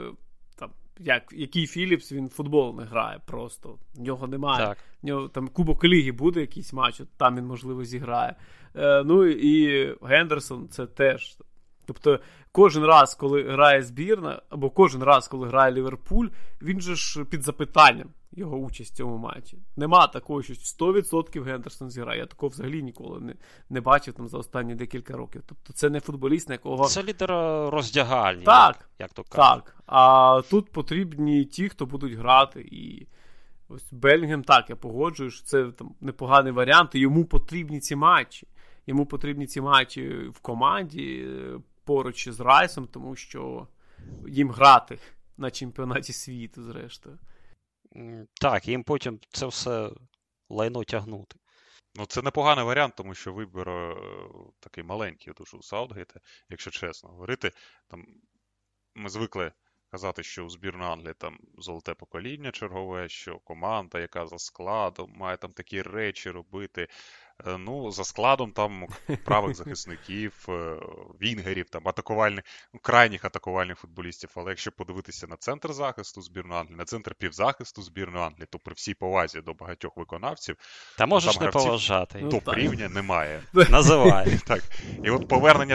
[SPEAKER 1] який Філіпс, він в футбол не грає просто. В нього немає.
[SPEAKER 2] Так.
[SPEAKER 1] В нього там Кубок Ліги буде якийсь матч, там він, можливо, зіграє. Ну і Гендерсон це теж. Тобто кожен раз, коли грає збірна, або кожен раз, коли грає Ліверпуль, він же ж під запитанням його участь в цьому матчі. Нема такого, що 100% Гендерсон зіграє. Я такого взагалі ніколи не бачив там за останні декілька років. Тобто це не футболіст, на якого...
[SPEAKER 2] Це лідер роздягальні,
[SPEAKER 1] так,
[SPEAKER 2] як то кажуть.
[SPEAKER 1] Так, а тут потрібні ті, хто будуть грати. І ось Белінгем, так, я погоджую, що це там непоганий варіант, і йому потрібні ці матчі. Йому потрібні ці матчі в команді поруч з Райсом, тому що їм грати на чемпіонаті світу, зрештою.
[SPEAKER 2] Так, їм потім це все лайно тягнути.
[SPEAKER 3] Ну, це непоганий варіант, тому що вибір такий маленький дуже у Саутгейта, якщо чесно говорити. Там ми звикли казати, що у збірної Англії там золоте покоління чергове, що команда, яка за складом, має там такі речі робити. Ну, за складом там правих захисників, вінгерів, там крайніх атакувальних футболістів. Але якщо подивитися на центр захисту збірної Англії, на центр півзахисту збірної Англії, то при всій повазі до багатьох виконавців,
[SPEAKER 2] та можеш не поважати.
[SPEAKER 3] Топ-рівня немає.
[SPEAKER 2] Називай.
[SPEAKER 3] Так. І от повернення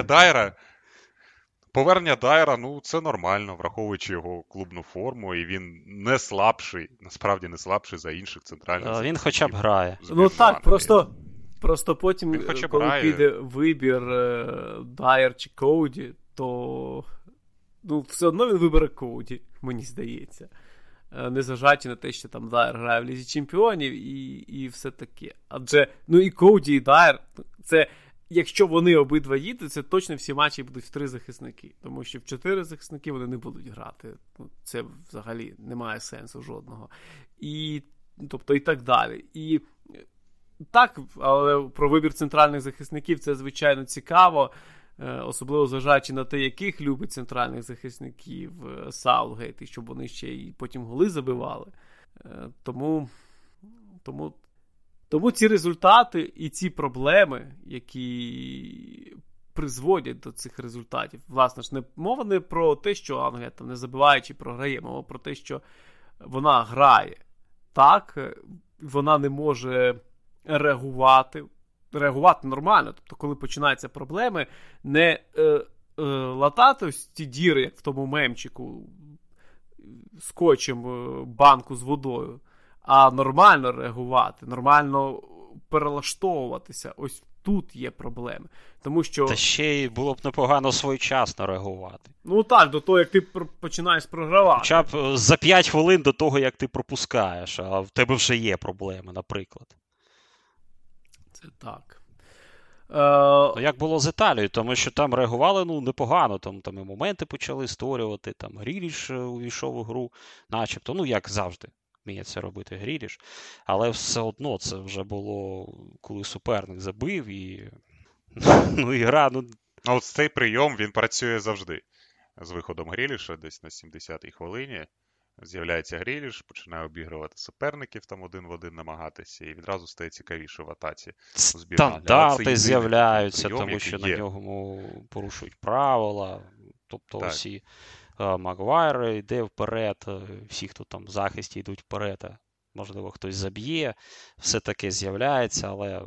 [SPEAKER 3] Дайера, ну, це нормально, враховуючи його клубну форму, і він не слабший, насправді не слабший за інших центральних захисників.
[SPEAKER 2] Він хоча б грає.
[SPEAKER 1] Ну так, просто потім, коли піде вибір Дайер чи Коуді, то все одно він вибере Коуді, мені здається. Незважаючи на те, що там Дайер грає в Лізі Чемпіонів і все таке. Адже, і Коуді, і Дайер, це... Якщо вони обидва їдуть, це точно всі матчі будуть в 3 захисники. Тому що в 4 захисники вони не будуть грати. Це взагалі немає сенсу жодного. І так далі. І так, але про вибір центральних захисників це, звичайно, цікаво. Особливо зважаючи на те, яких любить центральних захисників Саутгейт, і щоб вони ще й потім голи забивали. Тому ці результати і ці проблеми, які призводять до цих результатів, власне ж, мова не про те, що Англія там не забиває чи програє, мова про те, що вона грає так, вона не може реагувати нормально. Тобто, коли починаються проблеми, не латати ось ті діри, як в тому мемчику, скотчем банку з водою, а нормально реагувати, нормально перелаштовуватися. Ось тут є проблеми. Тому що...
[SPEAKER 2] Та ще й було б непогано своєчасно реагувати.
[SPEAKER 1] Ну так, до того, як ти починаєш програвати.
[SPEAKER 2] Хоча б за 5 хвилин до того, як ти пропускаєш, а в тебе вже є проблеми, наприклад.
[SPEAKER 1] Це так.
[SPEAKER 2] Як було з Італією, тому що там реагували непогано, там і моменти почали створювати, там Гріліш увійшов у гру, начебто, як завжди. Вміє це робити Гріліш, але все одно це вже було, коли суперник забив і гра,
[SPEAKER 3] От цей прийом, він працює завжди. З виходом Гріліша, десь на 70-й хвилині, з'являється Гріліш, починає обігрувати суперників, там один в один намагатися, і відразу стає цікавіше в атаці.
[SPEAKER 2] Стандарти з'являються, прийом, тому що на нього порушують правила, тобто усі... Магуайр йде вперед, всі, хто там в захисті, йдуть вперед. Можливо, хтось заб'є, все таке з'являється, але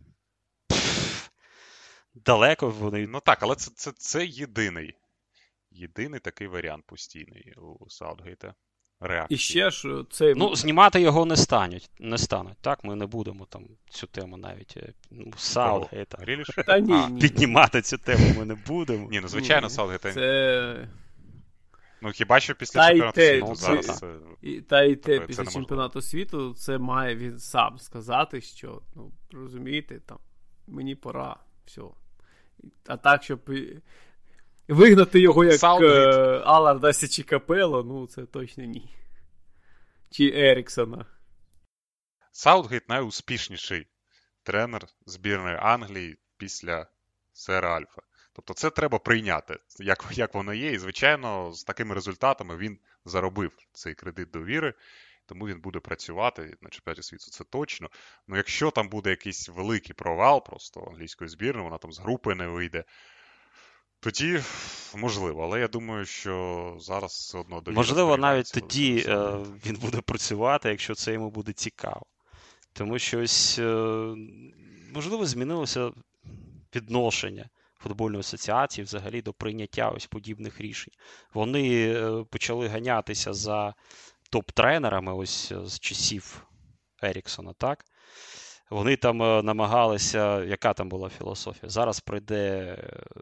[SPEAKER 2] далеко вони...
[SPEAKER 3] Ну так, але це єдиний єдиний такий варіант постійний у Саутгейта. Реакції.
[SPEAKER 1] І ще ж цей...
[SPEAKER 2] Ну, знімати його не стануть. Так, ми не будемо там цю тему навіть Саутгейта.
[SPEAKER 1] Та ні.
[SPEAKER 2] Піднімати цю тему ми не будемо.
[SPEAKER 3] Ні, ну звичайно, Саутгейта.
[SPEAKER 1] Це...
[SPEAKER 3] Ну хіба що після чемпіонату світу зараз...
[SPEAKER 1] Та й те, після чемпіонату світу, це має він сам сказати, що, ну, розумієте, там, мені пора, все. А так, щоб вигнати його, як Алардаси чи Капело, ну, це точно ні. Чи Еріксона.
[SPEAKER 3] Саутгейт найуспішніший тренер збірної Англії після Сера Альфа. Тобто це треба прийняти, як воно є. І, звичайно, з такими результатами він заробив цей кредит довіри, тому він буде працювати на чемпіонаті світу, це точно. Ну, якщо там буде якийсь великий провал просто англійської збірної, вона там з групи не вийде, тоді можливо. Але я думаю, що зараз все одно довіра.
[SPEAKER 2] Можливо, навіть тоді він буде працювати, якщо це йому буде цікаво. Тому що ось, можливо, змінилося відношення футбольної асоціації взагалі до прийняття ось подібних рішень. Вони почали ганятися за топ-тренерами ось з часів Еріксона, так? Вони там намагалися, яка там була філософія? Зараз прийде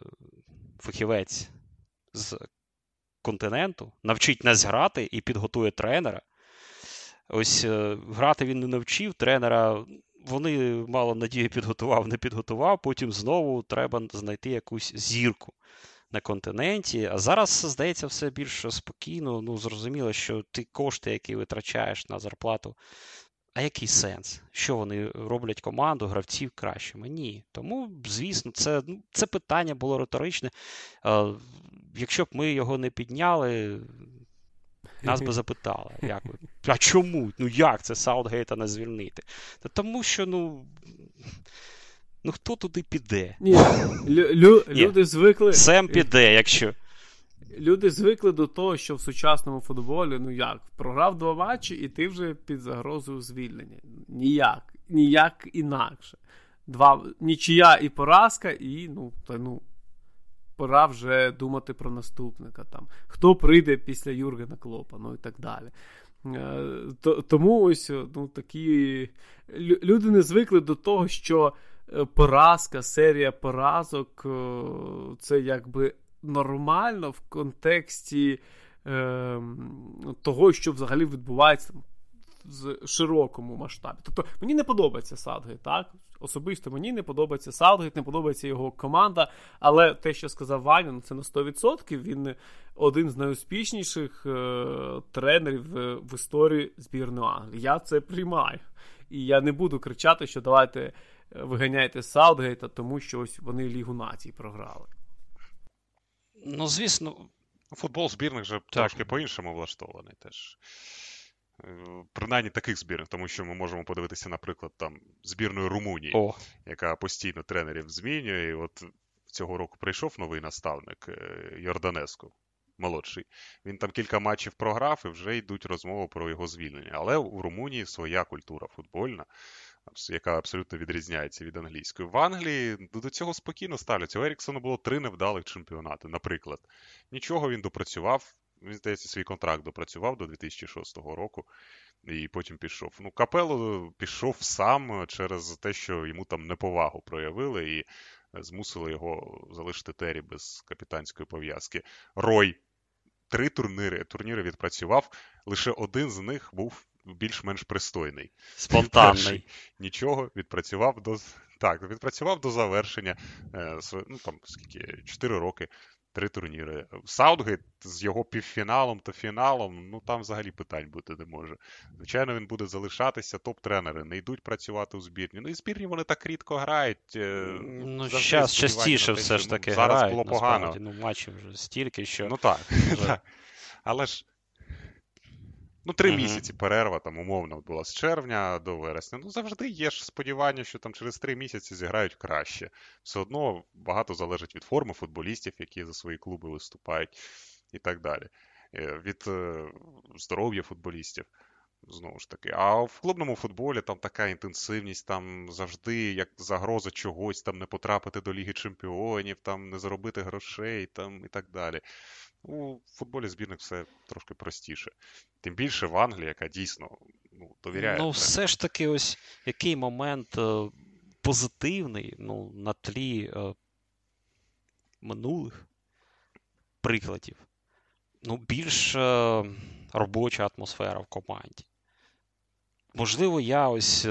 [SPEAKER 2] фахівець з континенту, навчить нас грати і підготує тренера. Ось грати він не навчив, тренера вони мало надії підготував, не підготував, потім знову треба знайти якусь зірку на континенті. А зараз, здається, все більш спокійно. Ну, зрозуміло, що ти кошти, які витрачаєш на зарплату, а який сенс? Що вони роблять команду, гравців кращими? Ні. Тому, звісно, це питання було риторичне. Якщо б ми його не підняли, нас би запитали, як ви? А чому? Ну як це Саутгейта не звільнити? Та тому що, ну хто туди піде?
[SPEAKER 1] Ні, люди звикли...
[SPEAKER 2] Сем піде, якщо...
[SPEAKER 1] Люди звикли до того, що в сучасному футболі, ну як, програв 2 матчі, і ти вже під загрозою звільнення. Ніяк інакше. Нічия і поразка, і, пора вже думати про наступника. Там. Хто прийде після Юргена Клопа, ну і так далі. Тому ось, такі... Люди не звикли до того, що поразка, серія поразок, це якби нормально в контексті того, що взагалі відбувається в широкому масштабі. Тобто, мені не подобається Саутгейт, так? Особисто мені не подобається Саутгейт, не подобається його команда, але те, що сказав Ваня, це на 100%. Він один з найуспішніших тренерів в історії збірної Англії. Я це приймаю. І я не буду кричати, що давайте виганяйте Саутгейта, тому що ось вони Лігу націй програли.
[SPEAKER 2] Ну, звісно.
[SPEAKER 3] Футбол збірних вже трошки по-іншому влаштований теж. Принаймні таких збірних, тому що ми можемо подивитися, наприклад, там збірної Румунії, яка постійно тренерів змінює. І от цього року прийшов новий наставник Йорданеску, молодший. Він там кілька матчів програв і вже йдуть розмови про його звільнення. Але у Румунії своя культура футбольна, яка абсолютно відрізняється від англійської. В Англії до цього спокійно ставляться. У Еріксона було 3 невдалих чемпіонати, наприклад. Нічого, він допрацював. Він, здається, свій контракт допрацював до 2006 року і потім пішов. Ну, Капелло пішов сам через те, що йому там неповагу проявили і змусили його залишити Террі без капітанської пов'язки. Рой 3 турніри відпрацював, лише один з них був більш-менш пристойний.
[SPEAKER 2] Спонтанний.
[SPEAKER 3] Нічого, відпрацював до завершення. 4 роки. 3 турніри. Саутгейт з його півфіналом та фіналом, там взагалі питань бути не може. Звичайно, він буде залишатися, топ-тренери не йдуть працювати у збірні. Ну і збірні вони так рідко грають.
[SPEAKER 2] Зараз частіше все ж таки грають.
[SPEAKER 3] Зараз було погано.
[SPEAKER 2] Матчів вже стільки, що...
[SPEAKER 3] Ну так. Але ж 3 місяці перерва, там, умовно, була з червня до вересня. Завжди є ж сподівання, що там через 3 місяці зіграють краще. Все одно багато залежить від форми футболістів, які за свої клуби виступають і так далі. Від здоров'я футболістів, знову ж таки. А в клубному футболі там така інтенсивність, там завжди як загроза чогось, там не потрапити до Ліги Чемпіонів, там не заробити грошей, там і так далі. У футболі збірних все трошки простіше. Тим більше в Англії, яка дійсно довіряє.
[SPEAKER 2] Ну, все ж таки, ось який момент позитивний, на тлі минулих прикладів. Більш робоча атмосфера в команді. Можливо, я ось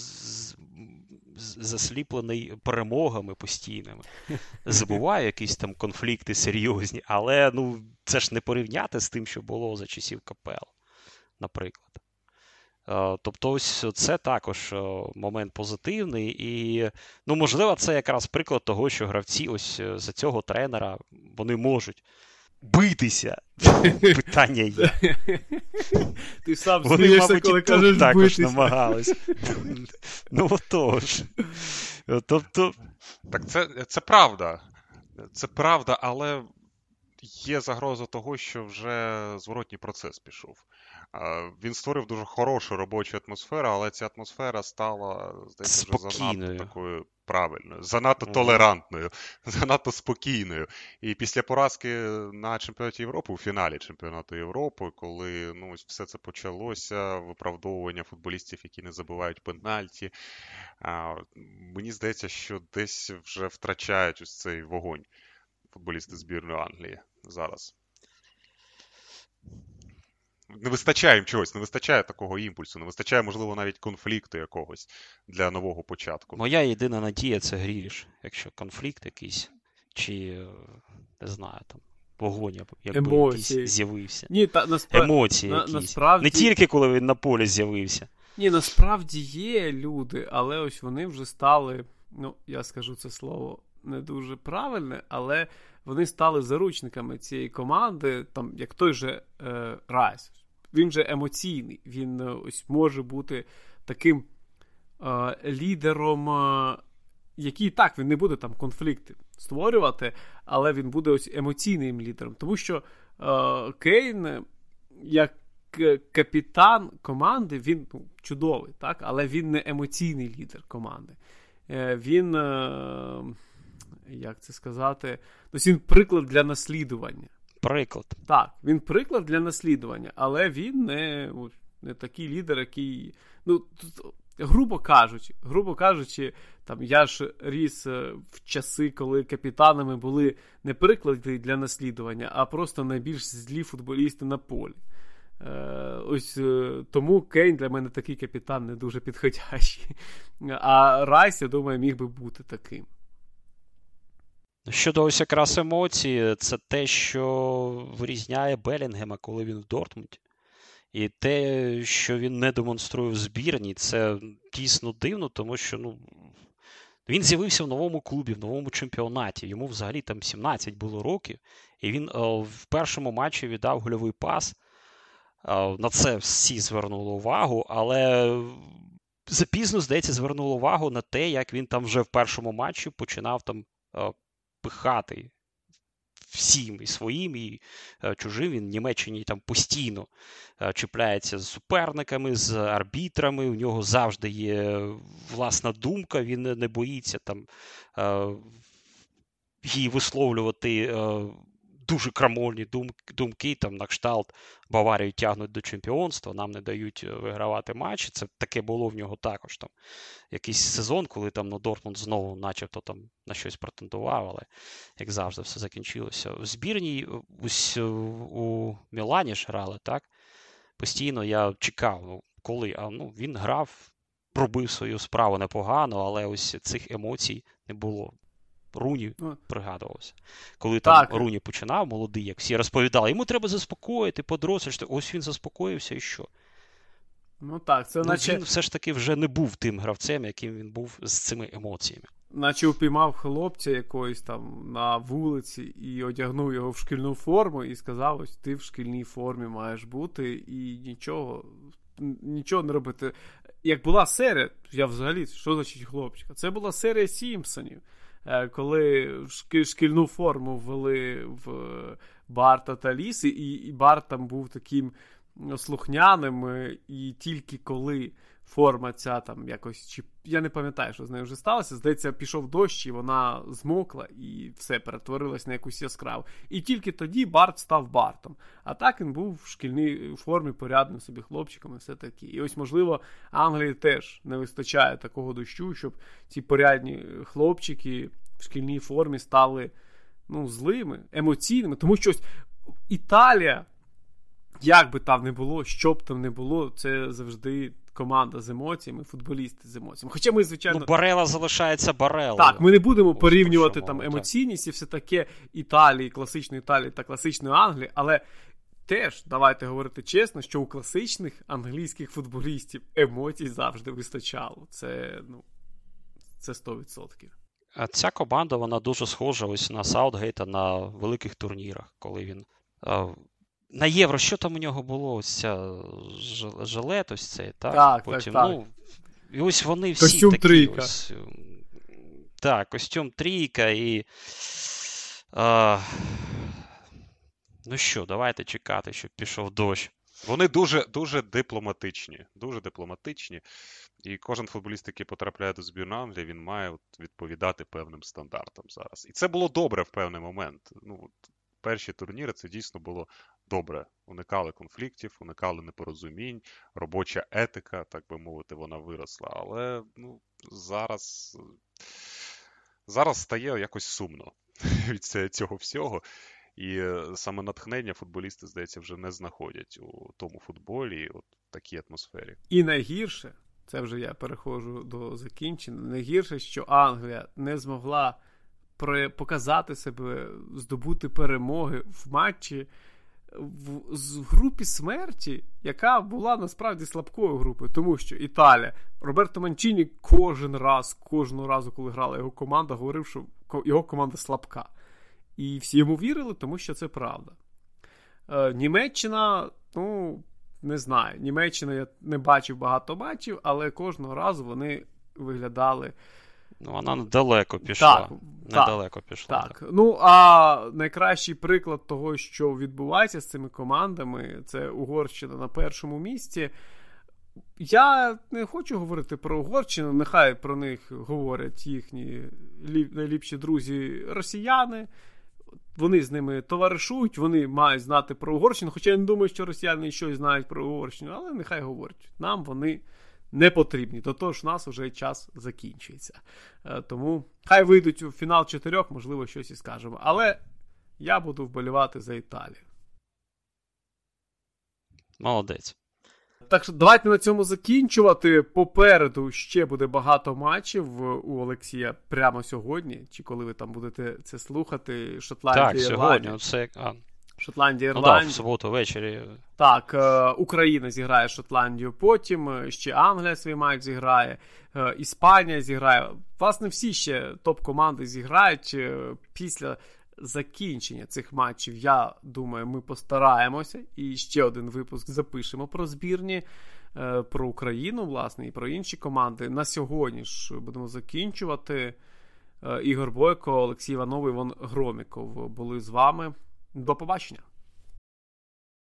[SPEAKER 2] засліплений перемогами постійними. Забуваю якісь там конфлікти серйозні, але це ж не порівняти з тим, що було за часів КПЛ, наприклад. Тобто ось це також момент позитивний і, можливо, це якраз приклад того, що гравці ось за цього тренера, вони можуть битися. Питання є.
[SPEAKER 1] Ти сам смієшся, коли кажеш битися.
[SPEAKER 2] Також намагались. Отож. Тобто...
[SPEAKER 3] Так це правда. Це правда, але є загроза того, що вже зворотній процес пішов. Він створив дуже хорошу робочу атмосферу, але ця атмосфера стала, здається, вже занадто такою правильною, занадто толерантною, занадто спокійною. І після поразки на чемпіонаті Європи, у фіналі чемпіонату Європи, коли ось все це почалося, виправдовування футболістів, які не забивають пенальті, мені здається, що десь вже втрачають ось цей вогонь футболісти збірної Англії зараз. Не вистачає їм чогось, не вистачає такого імпульсу, не вистачає, можливо, навіть конфлікту якогось для нового початку.
[SPEAKER 2] Моя єдина надія – це Гріліш. Якщо конфлікт якийсь, чи, не знаю, там, вогонь, якби якийсь з'явився.
[SPEAKER 1] Ні,
[SPEAKER 2] емоції якісь. Насправді... Не тільки, коли він на полі з'явився.
[SPEAKER 1] Ні, насправді є люди, але ось вони вже стали, я скажу це слово не дуже правильне, але вони стали заручниками цієї команди, там, як той же Райс. Він же емоційний, він ось може бути таким лідером, який так, він не буде там конфлікти створювати, але він буде ось емоційним лідером. Тому що Кейн, як капітан команди, він чудовий, так? Але він не емоційний лідер команди. Він, як це сказати, він приклад для наслідування.
[SPEAKER 2] Приклад.
[SPEAKER 1] Так, він приклад для наслідування, але він не такий лідер, який, грубо кажучи, там я ж ріс в часи, коли капітанами були не приклади для наслідування, а просто найбільш злі футболісти на полі. Ось тому Кейн для мене такий капітан не дуже підходящий. А Райс, я думаю, міг би бути таким.
[SPEAKER 2] Щодо ось якраз емоцій, це те, що вирізняє Белінгема, коли він в Дортмунді. І те, що він не демонструє в збірні, це дійсно дивно, тому що він з'явився в новому клубі, в новому чемпіонаті. Йому взагалі там 17 було років. І він в першому матчі віддав гольовий пас. На це всі звернули увагу, але запізно, здається, звернули увагу на те, як він там вже в першому матчі починав там пихати всім, і своїм, і чужим. Він в Німеччині там постійно чіпляється з суперниками, з арбітрами, у нього завжди є власна думка, він не боїться там її висловлювати дуже крамольні думки, там на кшталт Баварію тягнуть до чемпіонства, нам не дають вигравати матчі. Це таке було в нього також там якийсь сезон, коли там Дортмунд знову начебто там на щось претендував, але як завжди все закінчилося. В збірній ось у Мілані ж грали, так? Постійно я чекав, коли, він грав, робив свою справу непогано, але ось цих емоцій не було. Руні пригадувався. Коли там Руні починав, молодий, як всі розповідали, йому треба заспокоїти, подорослішати. Ось він заспокоївся і що?
[SPEAKER 1] Це наче...
[SPEAKER 2] Він все ж таки вже не був тим гравцем, яким він був з цими емоціями.
[SPEAKER 1] Наче упіймав хлопця якоїсь там на вулиці і одягнув його в шкільну форму і сказав, ось ти в шкільній формі маєш бути і нічого не робити. Як була серія, я взагалі, що значить хлопчика? Це була серія Сімпсонів. Коли шкільну форму ввели в Барта та Ліси, і Барт там був таким слухняним, і тільки коли форма ця там якось, чи я не пам'ятаю, що з нею вже сталося. Здається, пішов дощ, і вона змокла, і все, перетворилось на якусь яскраву. І тільки тоді Барт став Бартом. А так він був в шкільній формі, порядним собі хлопчиком і все таке. І ось, можливо, Англії теж не вистачає такого дощу, щоб ці порядні хлопчики в шкільній формі стали, злими, емоційними. Тому що ось Італія, як би там не було, що б там не було, це завжди команда з емоціями, футболісти з емоціями. Хоча ми, звичайно...
[SPEAKER 2] Барела залишається Барелою.
[SPEAKER 1] Так, ми не будемо порівнювати там емоційність і все таке Італії, класичної Італії та класичної Англії, але теж, давайте говорити чесно, що у класичних англійських футболістів емоцій завжди вистачало. Це 100%.
[SPEAKER 2] А ця команда, вона дуже схожа ось на Саутгейта на великих турнірах, коли він... На Євро, що там у нього було? Ось ця жилет, ось цей, так?
[SPEAKER 1] Так,
[SPEAKER 2] потім,
[SPEAKER 1] так.
[SPEAKER 2] І ось вони всі
[SPEAKER 1] костюм
[SPEAKER 2] такі
[SPEAKER 1] трійка.
[SPEAKER 2] Ось. Так, костюм трійка і... Ну що, давайте чекати, щоб пішов дощ.
[SPEAKER 3] Вони дуже дипломатичні. Дуже дипломатичні. І кожен футболіст, який потрапляє до збірної Англії, він має відповідати певним стандартам зараз. І це було добре в певний момент. Перші турніри це дійсно було добре. Уникали конфліктів, уникали непорозумінь, робоча етика, так би мовити, вона виросла. Але зараз стає якось сумно від цього всього. І саме натхнення футболісти, здається, вже не знаходять у тому футболі, от такій атмосфері.
[SPEAKER 1] І найгірше, це вже я переходжу до закінчення, найгірше, що Англія не змогла показати себе, здобути перемоги в матчі в групі смерті, яка була насправді слабкою групою, тому що Італія, Роберто Манчіні кожного разу, коли грала його команда, говорив, що його команда слабка. І всі йому вірили, тому що це правда. Німеччина, не знаю, Німеччина я не бачив багато матчів, але кожного разу вони виглядали...
[SPEAKER 2] Вона недалеко пішла.
[SPEAKER 1] Так. А найкращий приклад того, що відбувається з цими командами, це Угорщина на першому місці. Я не хочу говорити про Угорщину, нехай про них говорять їхні найліпші друзі росіяни. Вони з ними товаришують, вони мають знати про Угорщину, хоча я не думаю, що росіяни щось знають про Угорщину, але нехай говорять. Нам вони не потрібні. До того ж, у нас вже час закінчується. Тому хай вийдуть у фінал 4, можливо, щось і скажемо. Але я буду вболівати за Італію.
[SPEAKER 2] Молодець.
[SPEAKER 1] Так що давайте на цьому закінчувати. Попереду ще буде багато матчів у Олексія прямо сьогодні. Чи коли ви там будете це слухати. Шотландія, Ірландія.
[SPEAKER 2] Так, сьогодні.
[SPEAKER 1] Шотландія, Ірландія.
[SPEAKER 2] В суботу ввечері.
[SPEAKER 1] Так, Україна зіграє Шотландію потім, ще Англія свій матч зіграє, Іспанія зіграє. Власне, всі ще топ-команди зіграють після закінчення цих матчів. Я думаю, ми постараємося і ще один випуск запишемо про збірні, про Україну, власне, і про інші команди. На сьогодні ж будемо закінчувати. Ігор Бойко, Олексій Іванов, Іван Громіков були з вами. До побачення.